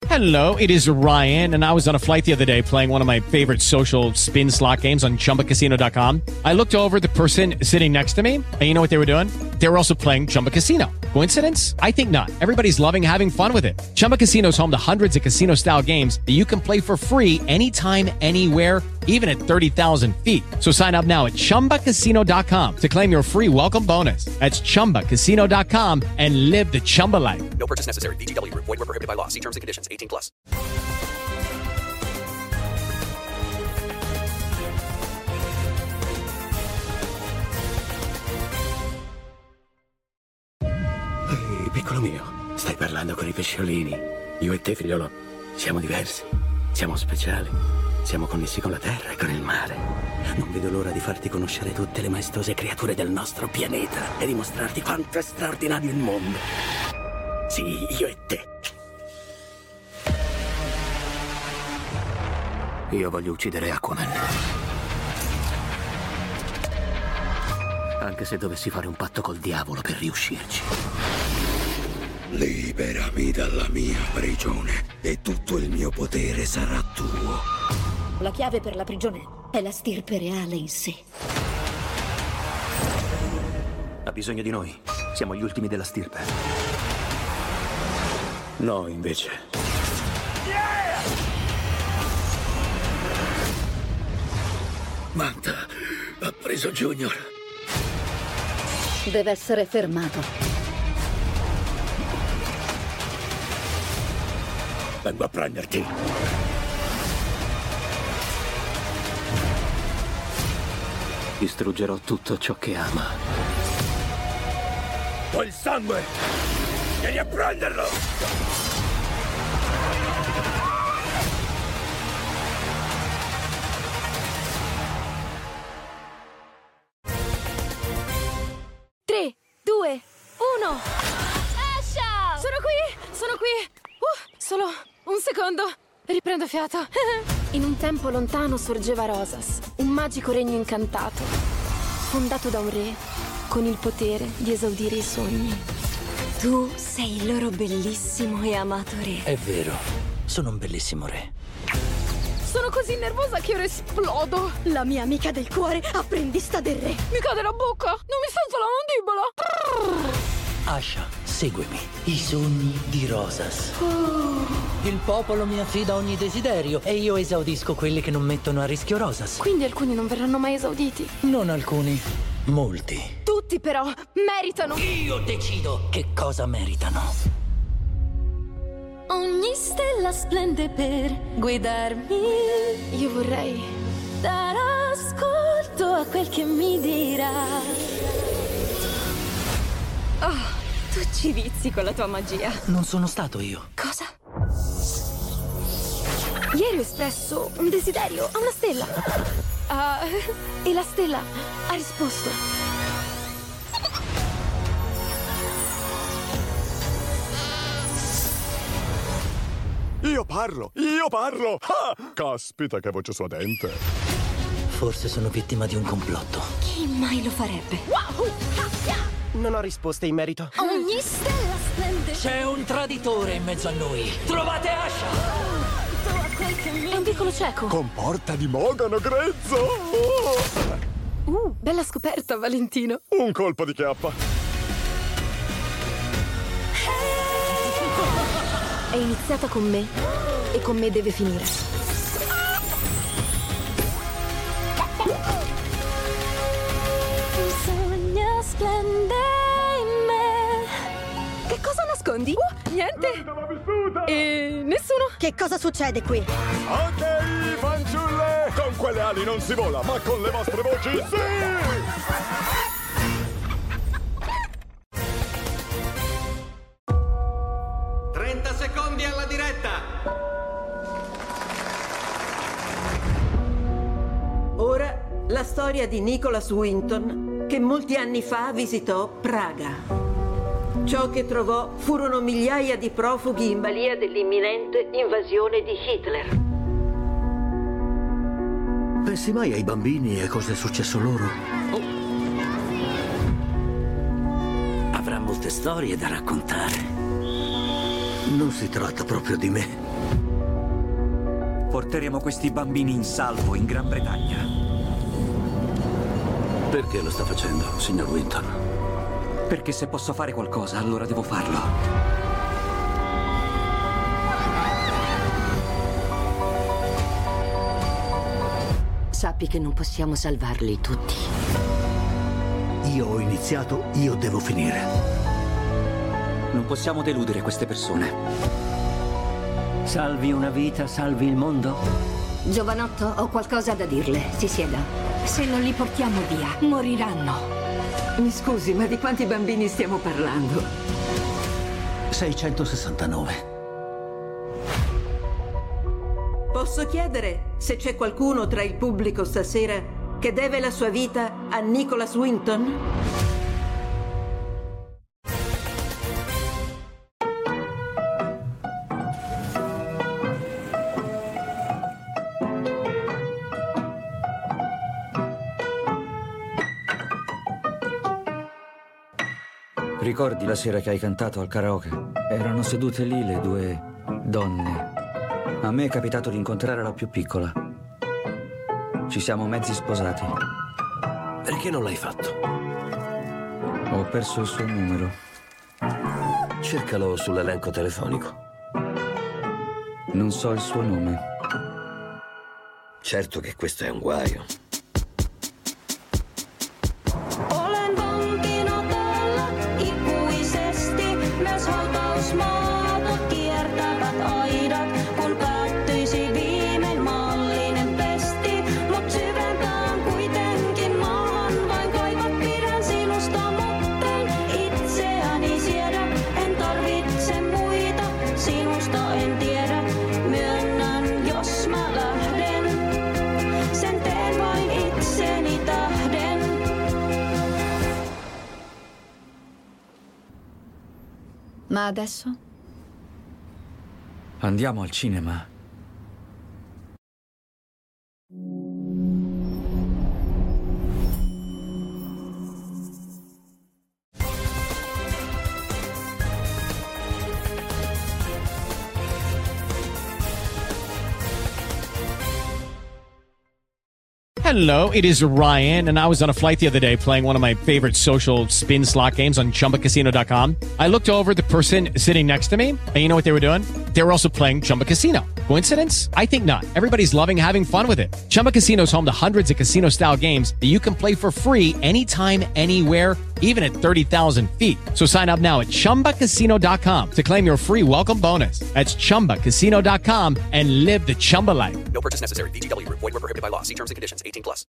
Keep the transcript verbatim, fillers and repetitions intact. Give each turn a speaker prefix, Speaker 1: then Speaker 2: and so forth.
Speaker 1: Hello, it is Ryan, and I was on a flight the other day playing one of my favorite social spin slot games on Chumba Casino dot com. I looked over at the person sitting next to me, and you know what they were doing? They were also playing Chumba Casino. Coincidence? I think not. Everybody's loving having fun with it. Chumba Casino is home to hundreds of casino-style games that you can play for free anytime, anywhere, even at thirty thousand feet. So sign up now at Chumba Casino dot com to claim your free welcome bonus. That's Chumba Casino dot com and live the Chumba life.
Speaker 2: No purchase necessary. V G W. Void where prohibited by law. See terms and conditions. eighteen plus.
Speaker 3: Ehi, piccolo mio, stai parlando con i pesciolini. Io e te, figliolo, siamo diversi. Siamo speciali. Siamo connessi con la terra e con il mare. Non vedo l'ora di farti conoscere tutte le maestose creature del nostro pianeta e dimostrarti quanto è straordinario il mondo. Sì, io e te. Io voglio uccidere Aquaman. Anche se dovessi fare un patto col diavolo per riuscirci.
Speaker 4: Liberami dalla mia prigione e tutto il mio potere sarà tuo.
Speaker 5: La chiave per la prigione è la stirpe reale in sé.
Speaker 3: Ha bisogno di noi. Siamo gli ultimi della stirpe. No, invece. Manta ha preso Junior.
Speaker 5: Deve essere fermato.
Speaker 3: Vengo a prenderti. Distruggerò tutto ciò che ama. Ho il sangue! Vieni a prenderlo!
Speaker 6: tre, due, uno. Asha! Sono qui! Sono qui! Uh, solo un secondo. Riprendo fiato. In un tempo lontano sorgeva Rosas, un magico regno incantato, fondato da un re con il potere di esaudire i sogni.
Speaker 7: Tu sei il loro bellissimo e amato re.
Speaker 3: È vero, sono un bellissimo re.
Speaker 6: Sono così nervosa che ora esplodo.
Speaker 5: La mia amica del cuore, apprendista del re.
Speaker 6: Mi cade la bocca, non mi sento la mandibola.
Speaker 8: Asha, seguimi. I sogni di Rosas.
Speaker 6: Oh.
Speaker 8: Il popolo mi affida ogni desiderio e io esaudisco quelli che non mettono a rischio Rosas.
Speaker 6: Quindi alcuni non verranno mai esauditi?
Speaker 8: Non alcuni, molti.
Speaker 6: Tutti però meritano.
Speaker 8: Io decido che cosa meritano.
Speaker 7: Ogni stella splende per guidarmi.
Speaker 6: Io vorrei
Speaker 7: dare ascolto a quel che mi dirà. Oh, tu ci vizi con la tua magia.
Speaker 8: Non sono stato io.
Speaker 7: Cosa?
Speaker 6: Ieri ho espresso un desiderio a una stella. Uh, e la stella ha risposto.
Speaker 9: Io parlo, io parlo! Ah, caspita che voce suadente.
Speaker 8: Forse sono vittima di un complotto.
Speaker 7: Chi mai lo farebbe?
Speaker 6: Wow!
Speaker 10: Non ho risposte in merito.
Speaker 7: Ogni stella splende.
Speaker 8: C'è un traditore in mezzo a noi. Trovate Asha!
Speaker 6: È un piccolo cieco.
Speaker 9: Con porta di mogano grezzo! Oh.
Speaker 6: Uh, bella scoperta, Valentino.
Speaker 9: Un colpo di chiappa.
Speaker 6: È iniziata con me e con me deve finire.
Speaker 7: Un sogno splende in me.
Speaker 6: Che cosa nascondi? Uh, niente. E nessuno.
Speaker 5: Che cosa succede qui?
Speaker 9: Ok, fanciulle! Con quelle ali non si vola, ma con le vostre voci sì!
Speaker 11: trenta secondi alla diretta!
Speaker 12: Ora la storia di Nicholas Winton, che molti anni fa visitò Praga. Ciò che trovò furono migliaia di profughi in balia dell'imminente invasione di Hitler.
Speaker 3: Pensi mai ai bambini e cosa è successo loro? Oh. Avrà molte storie da raccontare. Non si tratta proprio di me.
Speaker 4: Porteremo questi bambini in salvo in Gran Bretagna.
Speaker 3: Perché lo sta facendo, signor Winton?
Speaker 4: Perché se posso fare qualcosa, allora devo farlo.
Speaker 5: Sappi che non possiamo salvarli tutti.
Speaker 3: Io ho iniziato, io devo finire.
Speaker 4: Non possiamo deludere queste persone.
Speaker 8: Salvi una vita, salvi il mondo?
Speaker 5: Giovanotto, ho qualcosa da dirle. Si sieda. Se non li portiamo via, moriranno.
Speaker 12: Mi scusi, ma di quanti bambini stiamo parlando?
Speaker 3: seicentosessantanove.
Speaker 12: Posso chiedere se c'è qualcuno tra il pubblico stasera che deve la sua vita a Nicholas Winton?
Speaker 13: Ricordi la sera che hai cantato al karaoke? Erano sedute lì le due donne. A me è capitato di incontrare la più piccola. Ci siamo mezzi sposati.
Speaker 3: Perché non l'hai fatto?
Speaker 13: Ho perso il suo numero.
Speaker 3: Cercalo sull'elenco telefonico.
Speaker 13: Non so il suo nome.
Speaker 3: Certo che questo è un guaio.
Speaker 7: Olen vankina täällä ikuisesti. Myös hautausmaata kiertävät aidat, kun päättyisi viimein maallinen pesti. Mut syvempään kuitenkin maahan vain kaivat, pidän sinusta, mutten itseäni siedä. En tarvitse muita, sinusta en tiedä. Myönnän, jos mä lähden, sen teen vain itseni tähden.
Speaker 5: Ma adesso?
Speaker 13: Andiamo al cinema.
Speaker 1: Hello, it is Ryan, and I was on a flight the other day playing one of my favorite social spin slot games on Chumba Casino dot com. I looked over at the person sitting next to me, and you know what they were doing? They were also playing Chumba Casino. Coincidence? I think not. Everybody's loving having fun with it. Chumba Casino is home to hundreds of casino-style games that you can play for free anytime, anywhere, even at thirty thousand feet. So sign up now at Chumba Casino dot com to claim your free welcome bonus. That's Chumba Casino dot com and live the Chumba life.
Speaker 2: No purchase necessary. V G W. Void where prohibited by law. See terms and conditions. eighteen plus.